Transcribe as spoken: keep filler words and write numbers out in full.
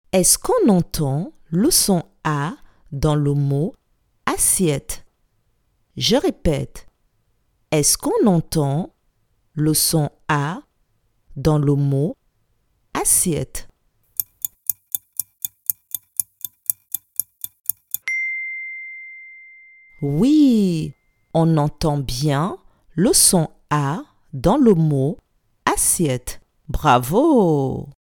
Est-ce qu'on entend le son A dans le mot assiette? Je répète. Est-ce qu'on entend le son A dans le mot assiette? Oui, on entend bien le son A dans le mot assiette. Bravo!